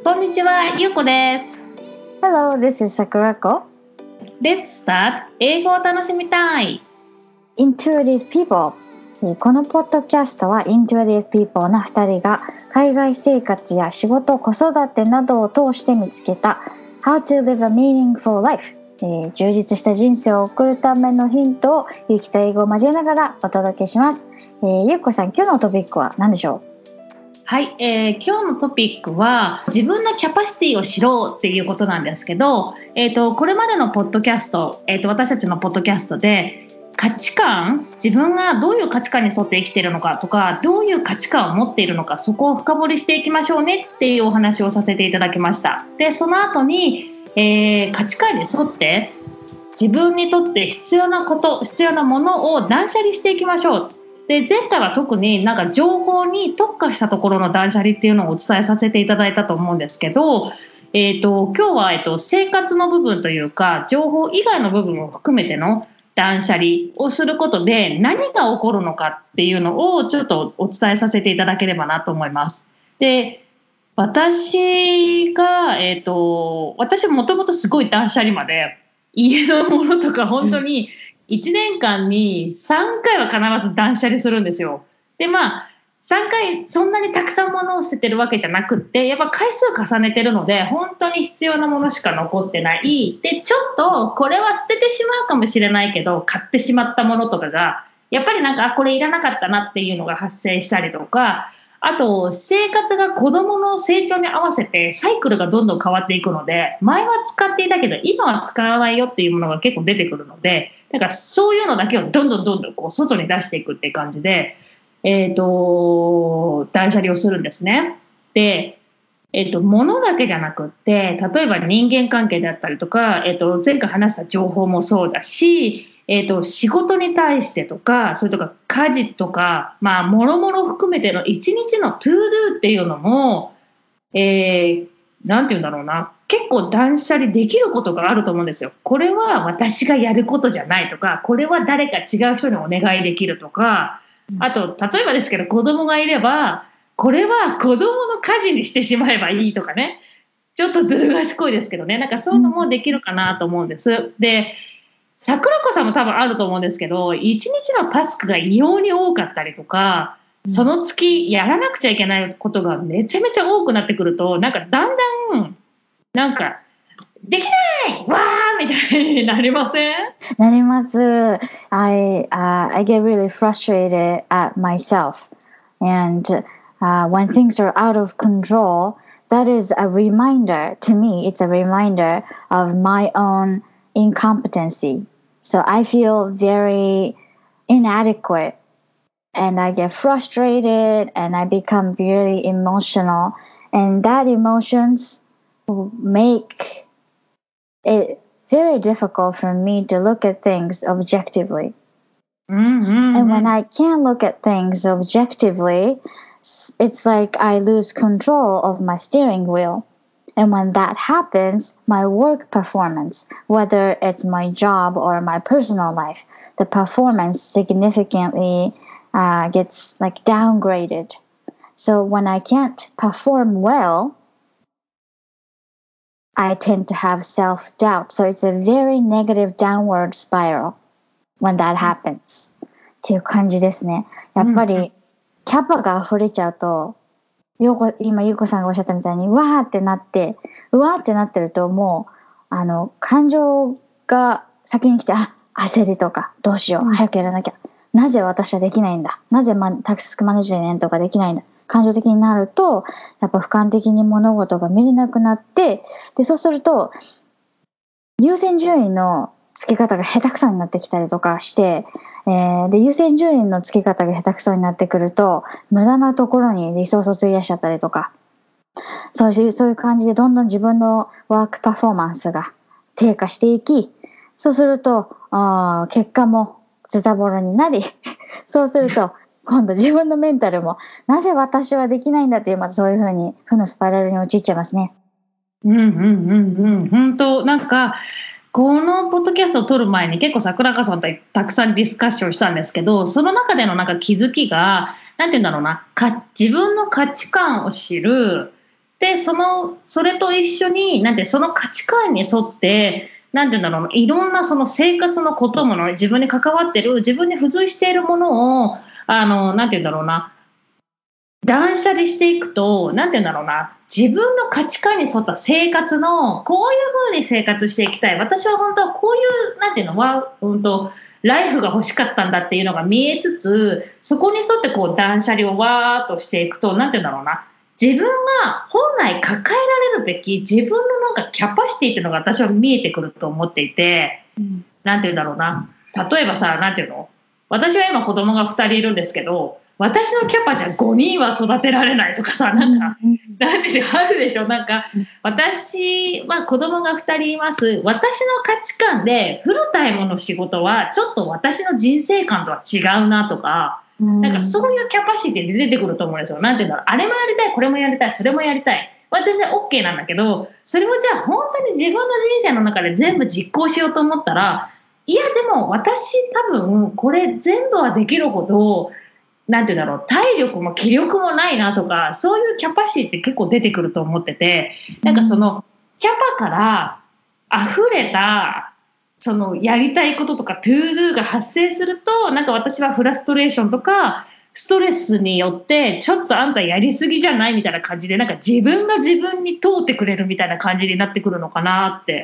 こんにちは、ゆうこです。 Hello, this is Sakurako. Let's start 英語を楽しみたい Intuitive People。 このポッドキャストは Intuitive People の2人が海外生活や仕事、子育てなどを通して見つけた How to live a meaningful life、充実した人生を送るためのヒントをゆきと英語を交えながらお届けします。ゆうこさん、今日のトピックは何でしょう？ はい、今日のトピックは自分のキャパシティを知ろうっていうことなんですけど、これまでのポッドキャスト、私たちのポッドキャストで価値観、自分がどういう価値観に沿って生きているのかとか、どういう価値観を持っているのか、そこを深掘りしていきましょうねっていうお話をさせていただきました。で、その後に、価値観に沿って自分にとって必要なこと、必要なものを断捨離していきましょう。で、前回は特になんか情報に特化したところの断捨離っていうのをお伝えさせていただいたと思うんですけど、今日は、生活の部分というか情報以外の部分を含めての断捨離をすることで何が起こるのかっていうのをちょっとお伝えさせていただければなと思います。で、私が、私もともとすごい断捨離まで家のものとか本当に1年間に3回は必ず断捨離するんですよ。で、3回そんなにたくさん物を捨ててるわけじゃなくって、やっぱ回数重ねてるので本当に必要なものしか残ってない。で、ちょっとこれは捨ててしまうかもしれないけど買ってしまったものとかがやっぱりなんかこれいらなかったなっていうのが発生したりとか、あと生活が子どもの成長に合わせてサイクルがどんどん変わっていくので、前は使っていたけど今は使わないよっていうものが結構出てくるので、だからそういうのだけをどんどんこう外に出していくっていう感じで、断捨離をするんですね。で、物だけじゃなくって、例えば人間関係であったりとか、前回話した情報もそうだし、仕事に対してとか、それとか家事とか、もろもろ含めての一日のトゥードゥっていうのも、なんていうんだろうな、結構断捨離できることがあると思うんですよ。これは私がやることじゃないとか、これは誰か違う人にお願いできるとか、あと例えばですけど子供がいれば、これは子供の家事にしてしまえばいいとかね、ちょっとずる賢いですけどね、なんかそういうのもできるかなと思うんです。で、桜子さんも多分あると思うんですけど、一日のタスクが異様に多かったりとか、その月やらなくちゃいけないことがめちゃめちゃ多くなってくると、なんかだんだんなんかできないわーみたいになりません？ なります。I get really frustrated at myself, and when things are out of control, that is a reminder to me. It's a reminder of my own incompetency. So I feel very inadequate, and I get frustrated, and I become really emotional, and that emotions will make it very difficult for me to look at things objectively. And when I can't look at things objectively, it's like I lose control of my steering wheel. And when that happens, my work performance, whether it's my job or my personal life, the performance significantly gets like downgraded. So when I can't perform well, I tend to have self-doubt. So it's a very negative downward spiral when that happens. っていう感じですね。やっぱりキャパが溢れちゃうと、今ゆうこさんがおっしゃったみたいにうわーってなってると、もう感情が先に来て、焦りとかどうしよう、早くやらなきゃ、なぜ私はできないんだ、なぜタスクマネジメントができないんだ、感情的になるとやっぱ俯瞰的に物事が見れなくなって、でそうすると優先順位の付け方が下手くそになってきたりとかして、で優先順位の付け方が下手くそになってくると無駄なところにリソースを費やしちゃったりとか、そういう感じでどんどん自分のワークパフォーマンスが低下していき、そうすると結果もズタボロになりそうすると今度自分のメンタルもなぜ私はできないんだっていう、またそういう風に負のスパイラルに陥っちゃいますね。 本当、なんかこのポッドキャストを撮る前に結構桜川さんとたくさんディスカッションしたんですけど、その中でのなんか気づきが、なんて言うんだろうな、自分の価値観を知る、 でそれと一緒にその価値観に沿ってなんていうんだろう、いろんなその生活のこともの、自分に関わってる、自分に付随しているものをなんていうんだろうな、断捨離していくと、なんていうんだろうな、自分の価値観に沿った生活のこういう風に生活していきたい、私は本当はこういうなんていうのはライフが欲しかったんだっていうのが見えつつ、そこに沿ってこう断捨離をわーっとしていくと、なんていうんだろうな、自分が本来抱えられるべき自分のなんかキャパシティっていうのが私は見えてくると思っていて、なんていうんだろうな、例えばさ、なんていうの、私は今子供が2人いるんですけど、私のキャパじゃ5人は育てられないとかさ、なんか、なんでしょう、あるでしょ、なんか、私は子供が2人います。私の価値観でフルタイムの仕事は、ちょっと私の人生観とは違うなとか、なんかそういうキャパシティで出てくると思うんですよ。なんていうんだろう、あれもやりたい、これもやりたい、それもやりたい。は全然 OK なんだけど、それをじゃあ本当に自分の人生の中で全部実行しようと思ったら、いやでも私多分これ全部はできるほど、なんていうんだろう、体力も気力もないなとか、そういうキャパシティって結構出てくると思ってて、なんかそのキャパから溢れたそのやりたいこととかトゥードゥが発生すると、なんか私はフラストレーションとかストレスによってちょっとあんたやりすぎじゃないみたいな感じで、なんか自分が自分に問うてくれるみたいな感じになってくるのかなって。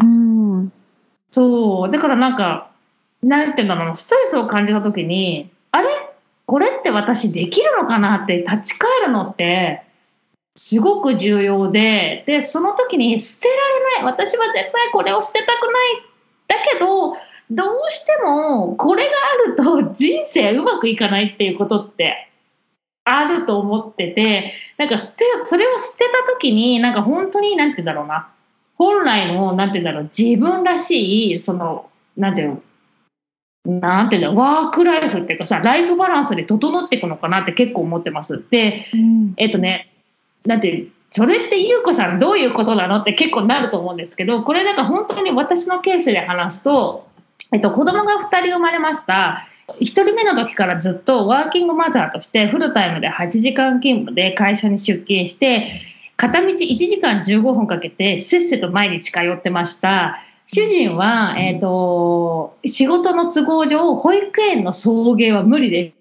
そうだからなんかなんていうんだろう、ストレスを感じた時に、あれこれって私できるのかなって立ち返るのってすごく重要で、その時に捨てられない、私は絶対これを捨てたくない、だけどどうしてもこれがあると人生うまくいかないっていうことってあると思ってて、なんかそれを捨てた時になんか本当になんて言うんだろうな、本来のなんて言うんだろう、自分らしいそのなんていうのなんていうの、ワークライフっていうかさ、ライフバランスで整っていくのかなって結構思ってます。で、なんてそれって優子さんどういうことなのって結構なると思うんですけど、これなんか本当に私のケースで話すと、子供が2人生まれました。1人目の時からずっとワーキングマザーとしてフルタイムで8時間勤務で会社に出勤して、片道1時間15分かけてせっせと毎日通ってました。主人は、仕事の都合上保育園の送迎は無理でした。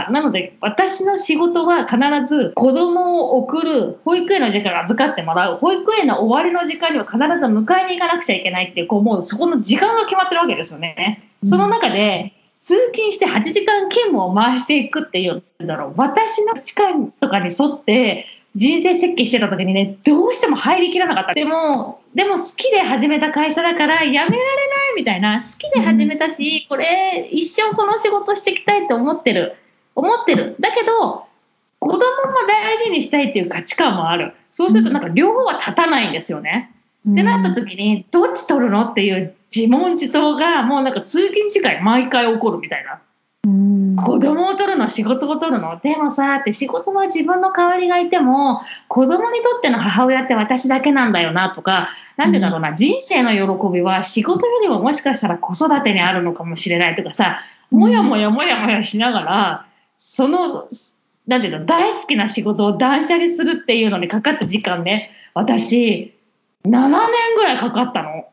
なので私の仕事は必ず子供を送る、保育園の時間預かってもらう、保育園の終わりの時間には必ず迎えに行かなくちゃいけないっていう、もうそこの時間が決まってるわけですよね。その中で通勤して8時間勤務を回していくっていう私の価値観とかに沿って人生設計してた時にね、どうしても入りきらなかった。でも好きで始めた会社だからやめられないみたいな、好きで始めたし、これ一生この仕事していきたいって思ってる。だけど子供も大事にしたいっていう価値観もある。そうするとなんか両方は立たないんですよね。ってなった時にどっち取るのっていう自問自答がもうなんか通勤時間毎回起こるみたいな。子供を取るの仕事を取るの、でもさって仕事は自分の代わりがいても子供にとっての母親って私だけなんだよなとか、なんてだろうな、人生の喜びは仕事よりももしかしたら子育てにあるのかもしれないとかさ、もやもやしながらそのなんていうの、大好きな仕事を断捨離するっていうのにかかった時間ね、私7年ぐらいかかったの。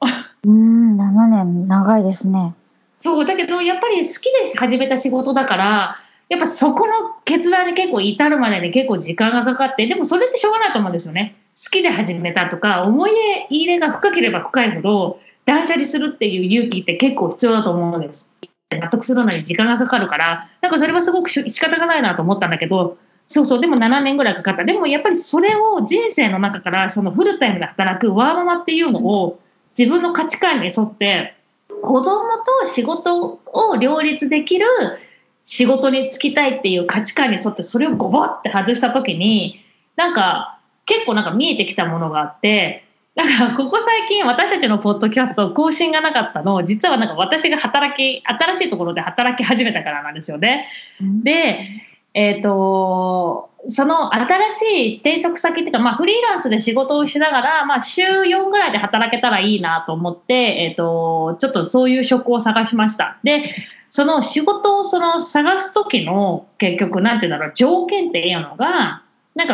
7年長いですね。 そうだけどやっぱり好きで始めた仕事だから、やっぱそこの決断に結構至るまでに結構時間がかかって、でもそれってしょうがないと思うんですよね。好きで始めたとか思い入れが深ければ深いほど断捨離するっていう勇気って結構必要だと思うんです。納得するのに時間がかかるから、なんかそれはすごく仕方がないなと思ったんだけど、でも7年ぐらいかかった。でもやっぱりそれを人生の中からそのフルタイムで働くワーママっていうのを自分の価値観に沿って子供と仕事を両立できる仕事に就きたいっていう価値観に沿ってそれをゴボって外した時に、なんか結構なんか見えてきたものがあって、だからここ最近私たちのポッドキャスト更新がなかったの、実はなんか私が新しいところで働き始めたからなんですよね。でその新しい転職先っていうか、フリーランスで仕事をしながら、週4ぐらいで働けたらいいなと思って、ちょっとそういう職を探しました。でその仕事を探す時の結局なんていうんだろう、条件っていうのがなんか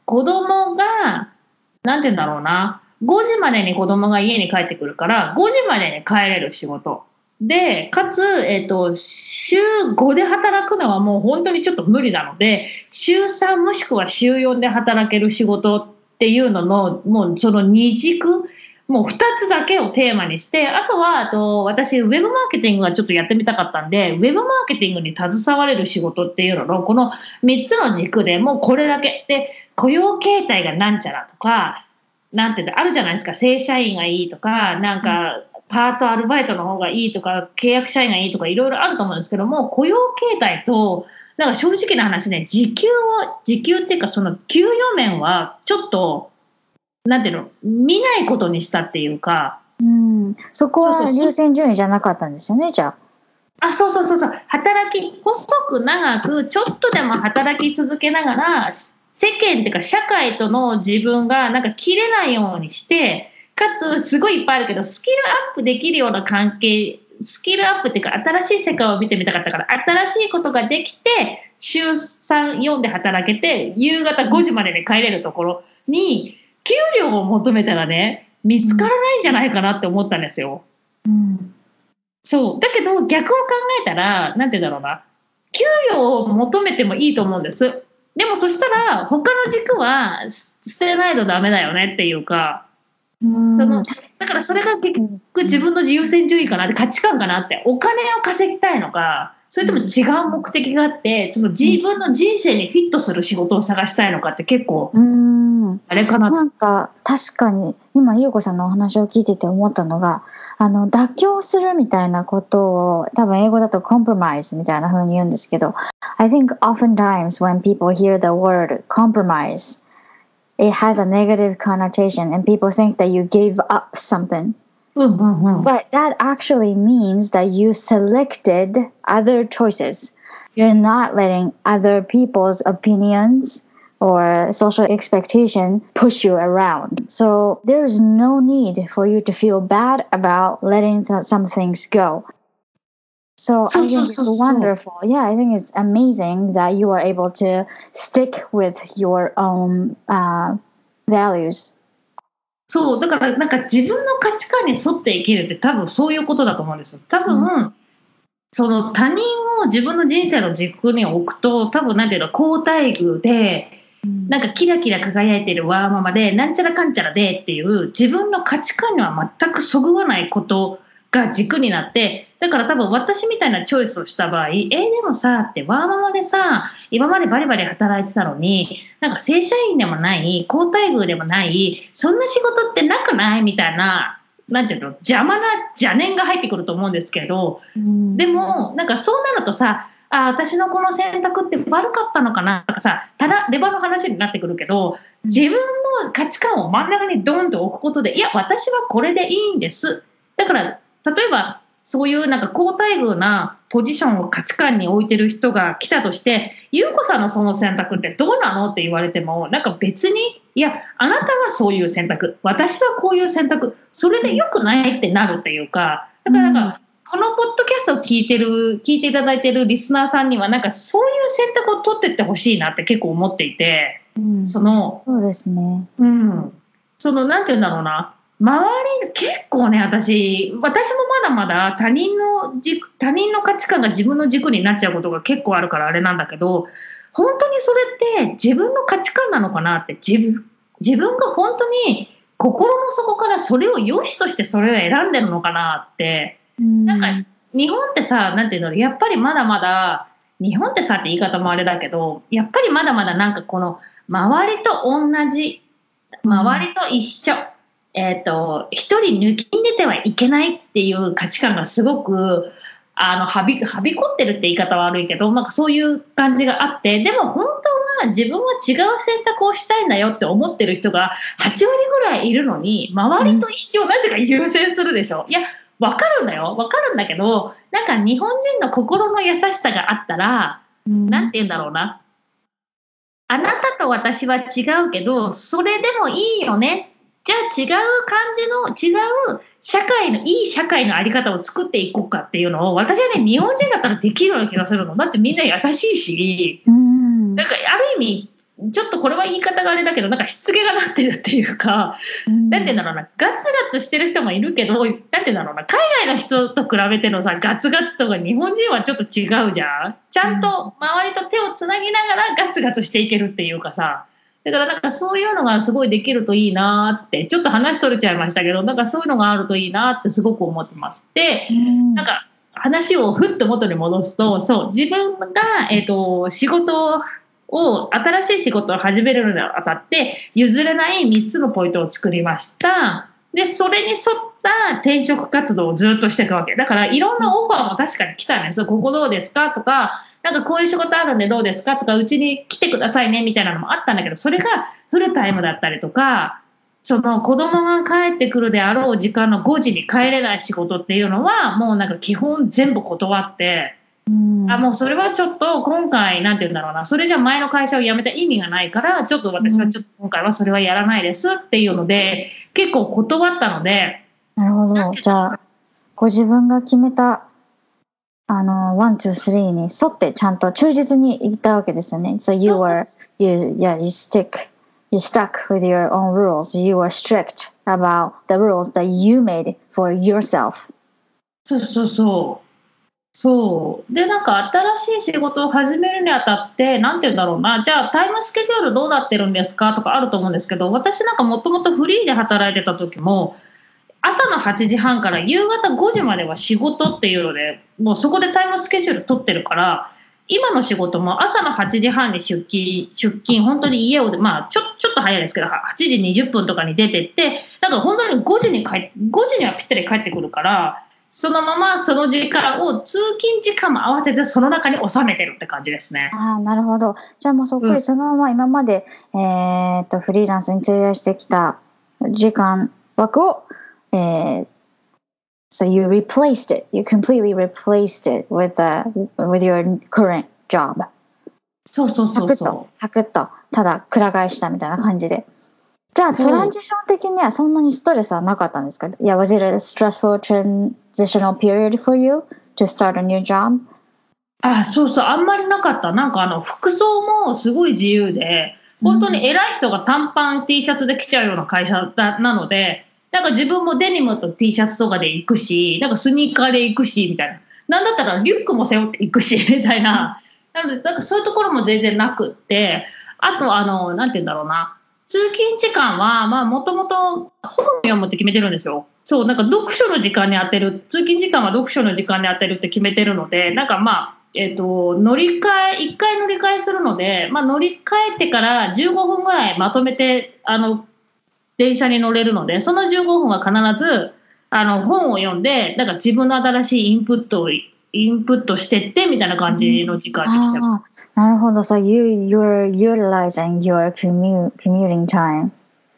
子供が、なんて言うんだろうな、5時までに子供が家に帰ってくるから、5時までに帰れる仕事。で、かつ、週5で働くのはもう本当にちょっと無理なので、週3もしくは週4で働ける仕事っていうのの、もうその二軸、もう2つだけをテーマにして、あとは、私、ウェブマーケティングがちょっとやってみたかったんで、ウェブマーケティングに携われる仕事っていうのの、この3つの軸でもうこれだけ。で、雇用形態がなんちゃらとか、なんていうの、あるじゃないですか、正社員がいいとか、なんか、パートアルバイトの方がいいとか、契約社員がいいとか、いろいろあると思うんですけども、雇用形態と、なんか正直な話ね、時給っていうか、その給与面は、ちょっと、なんていうの、見ないことにしたっていうか。 そこは優先順位じゃなかったんですよね、じゃあ。 そう。細く長く、ちょっとでも働き続けながら、世間っていうか、社会との自分が、なんか切れないようにして、かつすごいいっぱいあるけどスキルアップできるような関係、スキルアップっていうか新しい世界を見てみたかったから、新しいことができて週3、4で働けて夕方5時までに帰れるところに給料を求めたらね、見つからないんじゃないかなって思ったんですよ。そうだけど逆を考えたら、なんて言うんだろうな、給与を求めてもいいと思うんです。でもそしたら他の軸は捨てないとダメだよねっていうか、だからそれが結局自分の優先順位かなって、価値観かなって、お金を稼ぎたいのか、それとも違う目的があって、その自分の人生にフィットする仕事を探したいのかって、結構あれかな。 なんか確かに今優子さんのお話を聞いてて思ったのが、妥協するみたいなことを多分英語だと compromise みたいな風に言うんですけど、I think oftentimes when people hear the word compromise, it has a negative connotation and people think that you gave up something. But that actually means that you selected other choices. You're not letting other people's opinions or social expectation push you around. So there's no need for you to feel bad about letting some things go. So I think it's wonderful. Yeah, I think it's amazing that you are able to stick with your own values. そうだから、なんか自分の価値観に沿って生きるって多分そういうことだと思うんですよ。多分、その他人を自分の人生の軸に置くと、多分なんていうの、好待遇で、なんかキラキラ輝いてるワーママでなんちゃらかんちゃらでっていう自分の価値観には全くそぐわないことが軸になって、だから多分私みたいなチョイスをした場合、でもさってワーママでさ、今までバリバリ働いてたのに、なんか正社員でもない好待遇でもない、そんな仕事ってなくないみたいな、なんていうの、邪魔な邪念が入ってくると思うんですけど、でもなんかそうなるとさ、私のこの選択って悪かったのかなとかさ、ただレバの話になってくるけど、自分の価値観を真ん中にドンと置くことで、いや私はこれでいいんです。だから例えばそういうなんか好待遇なポジションを価値観に置いてる人が来たとして、優子さんのその選択ってどうなのって言われても、なんか別に、いやあなたはそういう選択、私はこういう選択、それで良くないってなるっていうか、だからなんか、このポッドキャストを聞いていただいているリスナーさんには、なんかそういう選択を取っていってほしいなって結構思っていて、 そうですね。 そのなんていうんだろうな、周り結構ね、私もまだまだ他人の価値観が自分の軸になっちゃうことが結構あるからあれなんだけど、本当にそれって自分の価値観なのかなって、自分が本当に心の底からそれを良しとしてそれを選んでるのかなって。なんか日本ってさ、なんていうの、やっぱりまだまだ日本ってさって言い方もあれだけど、やっぱりまだまだなんかこの周りと同じ、周りと一緒、一人抜きん出てはいけないっていう価値観がすごくはびこってるって言い方は悪いけど、なんかそういう感じがあって、でも本当は自分は違う選択をしたいんだよって思ってる人が8割ぐらいいるのに、周りと一緒、なぜか優先するでしょ。いや分かるんだよ、分かるんだけど、なんか日本人の心の優しさがあったら、なんて言うんだろうな、あなたと私は違うけどそれでもいいよね、じゃあ違う感じの違う社会のいい社会の在り方を作っていこうかっていうのを、私はね、日本人だったらできるような気がするの。だってみんな優しいし、なんかある意味ちょっとこれは言い方があれだけどなんかしつけがなってるっていうか、なんていうんだろうな、ガツガツしてる人もいるけど、なんていうんだろうな、海外の人と比べてのさガツガツとか日本人はちょっと違うじゃん。ちゃんと周りと手をつなぎながらガツガツしていけるっていうかさ、だからなんかそういうのがすごいできるといいなって、ちょっと話それちゃいましたけど、なんかそういうのがあるといいなってすごく思ってます。で、なんか話をふっと元に戻すと、そう自分が、仕事を新しい仕事を始めるのにあたって譲れない3つのポイントを作りました。でそれに沿った転職活動をずっとしていくわけだから、いろんなオファーも確かに来たんですよ。ここどうですかとか、なんかこういう仕事あるんでどうですかとか、うちに来てくださいねみたいなのもあったんだけど、それがフルタイムだったりとか、その子供が帰ってくるであろう時間の5時に帰れない仕事っていうのはもうなんか基本全部断って、もうそれはちょっと今回なんて言うんだろうな、それじゃ前の会社を辞めた意味がないから、ちょっと私はちょっと今回はそれはやらないですっていうので結構断ったので。 なるほど。じゃあご自分が決めた1、2、3に沿ってちゃんと忠実に言ったわけですよね。So you stuck with your own rules. You were strict about the rules that you made for yourself. そうで、なんか新しい仕事を始めるにあたってなんて言うんだろうな、じゃあタイムスケジュールどうなってるんですかとかあると思うんですけど、私なんかもともとフリーで働いてた時も朝の8時半から夕方5時までは仕事っていうので、もうそこでタイムスケジュール取ってるから、今の仕事も朝の8時半に出勤、本当に家を、ちょっと早いですけど8時20分とかに出てって、なんか本当に5時にはぴったり帰ってくるから、そのままその時間を通勤時間も合わせてその中に収めてるって感じですね。 なるほど。じゃあもうそっくりそのまま今まで、フリーランスに費やしてきた時間枠をSo you completely replaced it with your current job. そう。 サクッと、ただ、くら替えしたみたいな感じで。じゃあ、トランジション的にはそんなにストレスはなかったんですか？Was it a stressful transitional period for you to start a new job? そう、あんまりなかった。なんか服装もすごい自由で、本当に偉い人が短パン T シャツで来ちゃうような会社なので、なんか自分もデニムと T シャツとかで行くし、なんかスニーカーで行くしみたいな、なんだったらリュックも背負って行くしみたいな、なのでなんかそういうところも全然なくって、あとなんて言うんだろうな、通勤時間はもともと本を読むって決めてるんですよ。そう、なんか読書の時間に当てる、通勤時間は読書の時間に当てるって決めてるので、なんか乗り換え1回乗り換えするので、乗り換えてから15分ぐらいまとめて電車に乗れるので、その15分は必ず本を読んで、なんか自分の新しいインプットしてってみたいな感じの時間にしてます。 なるほど。So you're utilizing your commuting time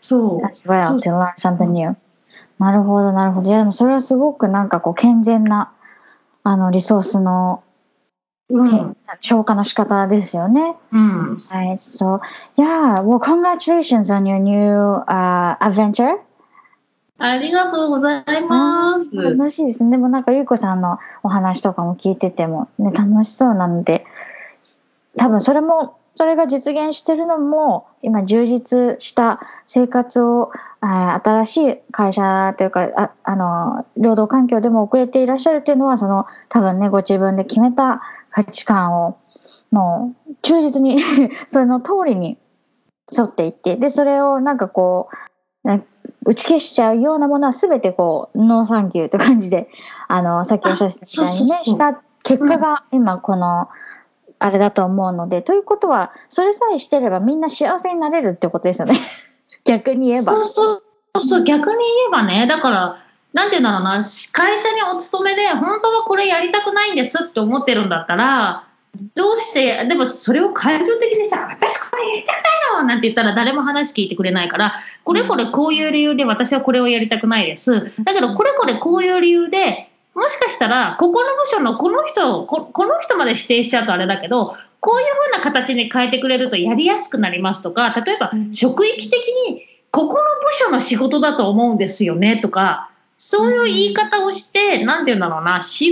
as well to learn something new. なるほど。いやでもそれはすごくなんかこう健全なリソースの消化の仕方ですよね。はい。So yeah, well, congratulations on your new adventure. ありがとうございます。 楽しいですね。でもなんかゆうこさんのお話とかも聞いててもね、楽しそうなので、多分それが実現してるのも今充実した生活を新しい会社というか労働環境でも送れていらっしゃるっていうのは、その多分ねご自分で決めた価値観をもう忠実にその通りに沿っていって、でそれをなんかこう打ち消しちゃうようなものは全てこうノーサンキューって感じでさっきおっしゃってたみたいにねした結果が今このあれだと思うので、ということはそれさえしてればみんな幸せになれるってことですよね。逆に言えば。 そう逆に言えばね、だからなんていうんだろうな、会社にお勤めで本当はこれやりたくないんですって思ってるんだったら、どうしてでもそれを感情的にさ、私これやりたくないのなんて言ったら誰も話聞いてくれないから、これこれこういう理由で私はこれをやりたくないです、だけどこれこれこういう理由でもしかしたらここの部署のこの人まで指定しちゃうとあれだけど、こういう風な形に変えてくれるとやりやすくなりますとか、例えば職域的にここの部署の仕事だと思うんですよねとか、そういう言い方をして、なんていうんだろうな、仕事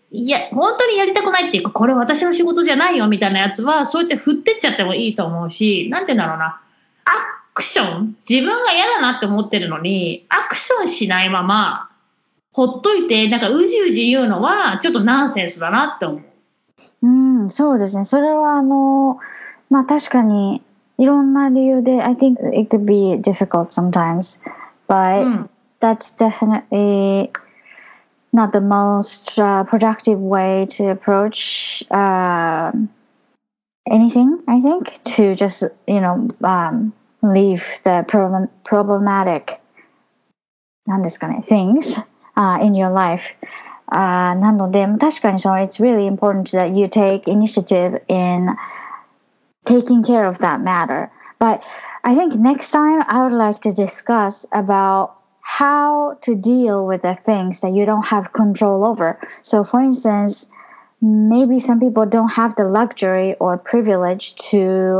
いや本当にやりたくないっていうか、これ私の仕事じゃないよみたいなやつはそうやって振ってっちゃってもいいと思うし、なんて言うんだろうな、アクション、自分が嫌だなって思ってるのにアクションしないままほっといてなんかうじうじ言うのはちょっとナンセンスだなって思う。 そうですね。それはまあ確かにいろんな理由で I think it could be difficult sometimes, but that's definitely not the most productive way to approach anything, I think, to just, leave the problematic なんですかね things in your life. なので確かにit's really important that you take initiative in taking care of that matter. But I think next time I would like to discuss about how to deal with the things that you don't have control over. So for instance, maybe some people don't have the luxury or privilege to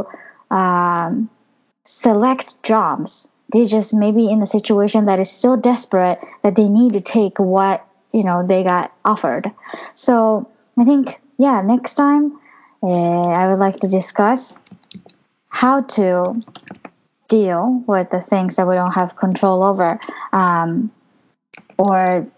select jobs. They just maybe in a situation that is so desperate that they need to take what they got offered. So I think, next time I would like to discuss how to deal with the things that we don't have control over, or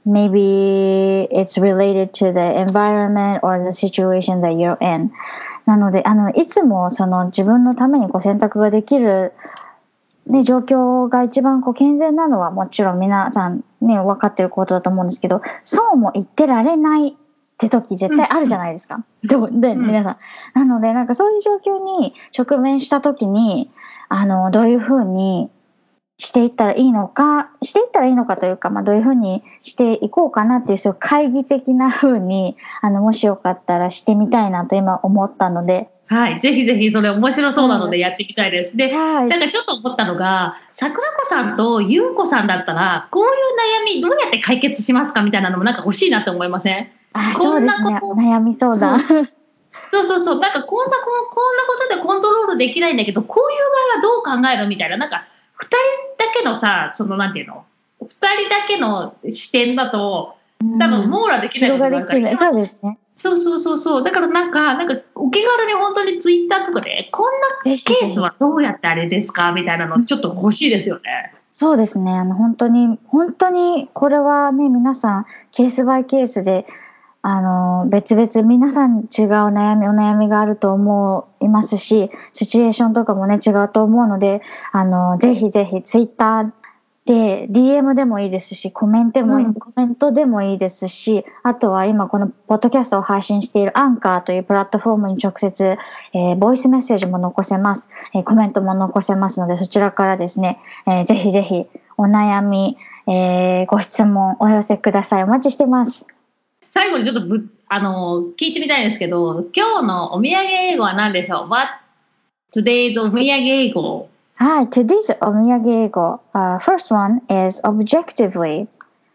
maybe it's related to the environment or the situation that you're in. なのでいつも自分のために選択ができる、状況が一番健全なのはもちろん皆さん分かってることだと思うんですけど、そうも言ってられないって時絶対あるじゃないですか。で皆さんなのでそういう状況に直面した時にどういうふうにしていったらいいのかというか、どういうふうにしていこうかなっていう、そういう懐疑的なふうにもしよかったらしてみたいなと今思ったので、 はい、ぜひぜひそれ面白そうなのでやっていきたいです。で、なんかちょっと思ったのが、桜子さんと優子さんだったらこういう悩みどうやって解決しますかみたいなのもなんか欲しいなって思いません？こんなこと、 悩みそうだ。 そうなんかこんなことでコントロールできないんだけど、こういう場合はどう考えるみたいな、なんか2人だけのさ、なんていうの、2人だけの視点だと多分網羅できないことがあるから、 そうですね。 そうだからなんかお気軽に本当にツイッターとかでこんなケースはどうやってあれですかみたいなのちょっと欲しいですよね。 そうですね。本当にこれはね、皆さんケースバイケースで別々皆さん違うお悩みがあると思いますし、シチュエーションとかもね違うと思うので、ぜひぜひツイッターで DM でもいいですし、コメントでもいいですし、あとは今このポッドキャストを配信しているアンカーというプラットフォームに直接、ボイスメッセージも残せます、コメントも残せますので、そちらからですね、ぜひぜひお悩み、ご質問お寄せください。お待ちしてます。 最後にちょっと聞いてみたいんですけど、今日のお土産英語は何でしょう？ What today's お土産英語。 はい、today's お土産英語、first one is objectively。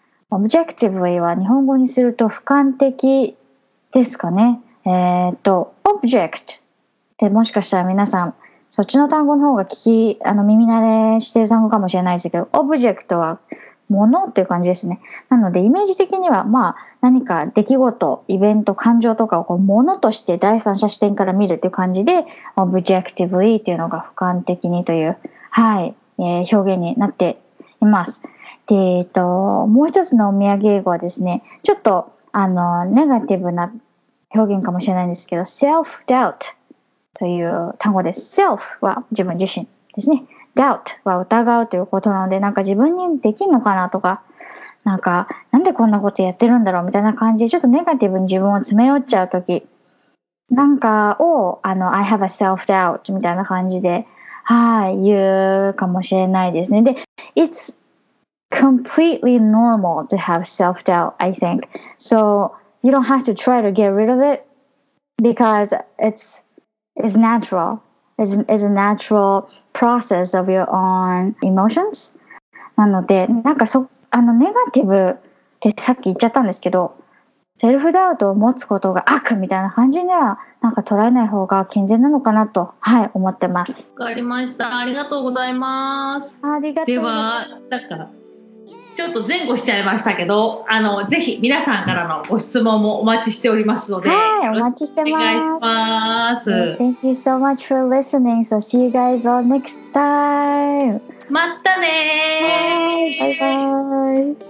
objectively は日本語にすると俯瞰的ですかね。object ってもしかしたら皆さんそっちの単語の方が耳慣れしてる単語かもしれないですけど、object はものっていう感じですね。なのでイメージ的には何か出来事、イベント、感情とかをものとして第三者視点から見るっていう感じで objectively っていうのが俯瞰的にという、表現になっています。で、もう一つのお土産英語はですね、ちょっとネガティブな表現かもしれないんですけど self-doubt という単語です。self は自分自身ですね。doubt は疑うということなので、自分にできるのかなとか、なんでこんなことやってるんだろうみたいな感じでちょっとネガティブに自分を詰め寄っちゃうときをI have a self-doubt みたいな感じで言うかもしれないですね。で、It's completely normal to have self-doubt, I think. So you don't have to try to get rid of it because it's natural. It's a natural process of your own emotions. なので、ネガティブってさっき言っちゃったんですけど、セルフダウトを持つことが悪みたいな感じには捉えない方が健全なのかなと、思ってます。 わかりました。ありがとうございます。 ありがとうございます。 では、 ちょっと前後しちゃいましたけど、ぜひ皆さんからのご質問もお待ちしておりますので、 はい、お待ちしてます。 お願いします。 Thank you so much for listening. So see you guys all next time. またねー。 バイバイ。